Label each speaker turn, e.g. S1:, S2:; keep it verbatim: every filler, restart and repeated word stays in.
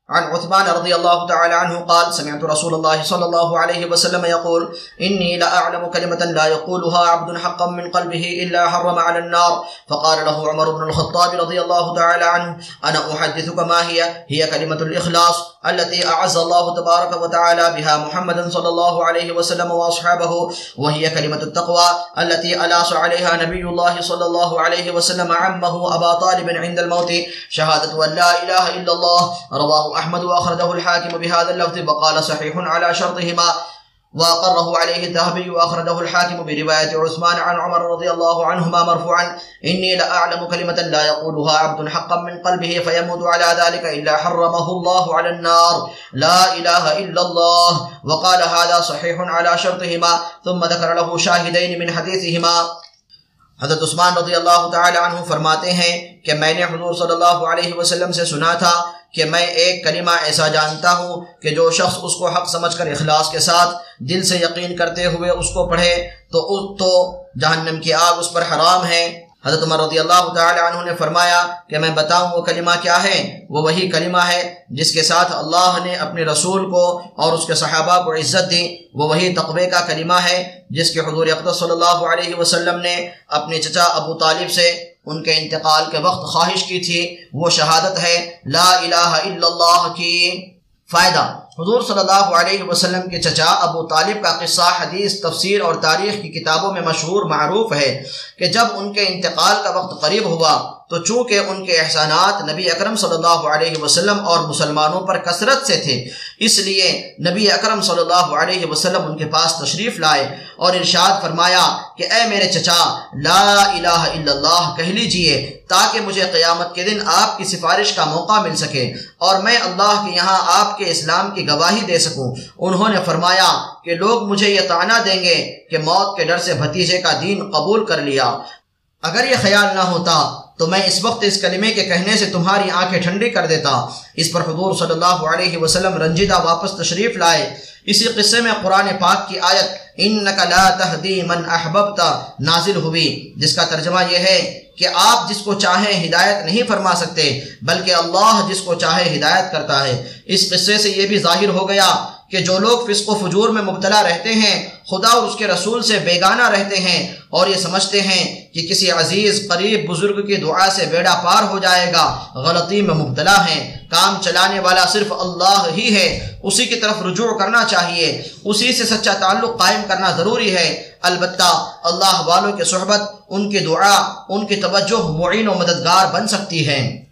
S1: عن عثمان رضي الله تعالى عنه قال سمعت رسول الله صلى الله عليه وسلم يقول إني لأعلم كلمة لا يقولها عبد حقا من قلبه إلا حرم على النار. فقال له عمر بن الخطاب رضي الله تعالى عنه أنا أحدثك ما هي هي كلمة الإخلاص التي أعز الله تبارك وتعالى بها محمدا صلى الله عليه وسلم وأصحابه، وهي كلمة التقوى التي ألاص عليها نبي الله صلى الله عليه وسلم عمه أبا طالب عند الموت، شهادة أن لا إله إلا الله. رواه أحمد وأخرجه الحاكم بهذا اللفظ وقال صحيح على شرطهما، وأقره عليه الذهبي وأخرجه الحاكم برواية عثمان عن عمر رضي الله عنهما مرفوعا إني لأعلم كلمة لا يقولها عبد حقا من قلبه فيموت على ذلك إلا حرمه الله على النار، لا إله إلا الله. وقال هذا صحيح على شرطهما، ثم ذكر له شاهدين من حديثهما. حضرت عثمان رضی اللہ تعالی عنہ فرماتے ہیں کہ میں نے حضور صلی اللہ علیہ وسلم سے سنا تھا کہ میں ایک کلمہ ایسا جانتا ہوں کہ جو شخص اس کو حق سمجھ کر اخلاص کے ساتھ دل سے یقین کرتے ہوئے اس کو پڑھے تو تو جہنم کی آگ اس پر حرام ہے۔ حضرت عمر رضی اللہ تعالی عنہ نے فرمایا کہ میں بتاؤں وہ کلمہ کیا ہے؟ وہ وہی کلمہ ہے جس کے ساتھ اللہ نے اپنے رسول کو اور اس کے صحابہ کو عزت دی، وہ وہی تقوی کا کلمہ ہے جس کے حضور اقدس صلی اللہ علیہ وسلم نے اپنے چچا ابو طالب سے ان کے انتقال کے وقت خواہش کی تھی، وہ شہادت ہے لا الہ الا اللہ کی۔ فائدہ: حضور صلی اللہ علیہ وسلم کے چچا ابو طالب کا قصہ حدیث، تفسیر اور تاریخ کی کتابوں میں مشہور معروف ہے کہ جب ان کے انتقال کا وقت قریب ہوا تو چونکہ ان کے احسانات نبی اکرم صلی اللہ علیہ وسلم اور مسلمانوں پر کثرت سے تھے، اس لیے نبی اکرم صلی اللہ علیہ وسلم ان کے پاس تشریف لائے اور ارشاد فرمایا کہ اے میرے چچا لا الہ الا اللہ کہہ لیجئے تاکہ مجھے قیامت کے دن آپ کی سفارش کا موقع مل سکے اور میں اللہ کے یہاں آپ کے اسلام کی گواہی دے سکوں۔ انہوں نے فرمایا کہ لوگ مجھے یہ طعنہ دیں گے کہ موت کے ڈر سے بھتیجے کا دین قبول کر لیا۔ اگر یہ خیال نہ ہوتا تو میں اس وقت اس کلمے کے کہنے سے تمہاری آنکھیں ٹھنڈی کر دیتا۔ اس پر حضور صلی اللہ علیہ وسلم رنجیدہ واپس تشریف لائے۔ اسی قصے میں قرآن پاک کی آیت انک لا تہدی من احببت نازل ہوئی، جس کا ترجمہ یہ ہے کہ آپ جس کو چاہیں ہدایت نہیں فرما سکتے بلکہ اللہ جس کو چاہے ہدایت کرتا ہے۔ اس قصے سے یہ بھی ظاہر ہو گیا کہ جو لوگ فسق و فجور میں مبتلا رہتے ہیں، خدا اور اس کے رسول سے بیگانہ رہتے ہیں اور یہ سمجھتے ہیں کہ کسی عزیز قریب بزرگ کی دعا سے بیڑا پار ہو جائے گا، غلطی میں مبتلا ہیں۔ کام چلانے والا صرف اللہ ہی ہے، اسی کی طرف رجوع کرنا چاہیے، اسی سے سچا تعلق قائم کرنا ضروری ہے۔ البتہ اللہ والوں کی صحبت، ان کی دعا، ان کی توجہ معین و مددگار بن سکتی ہے۔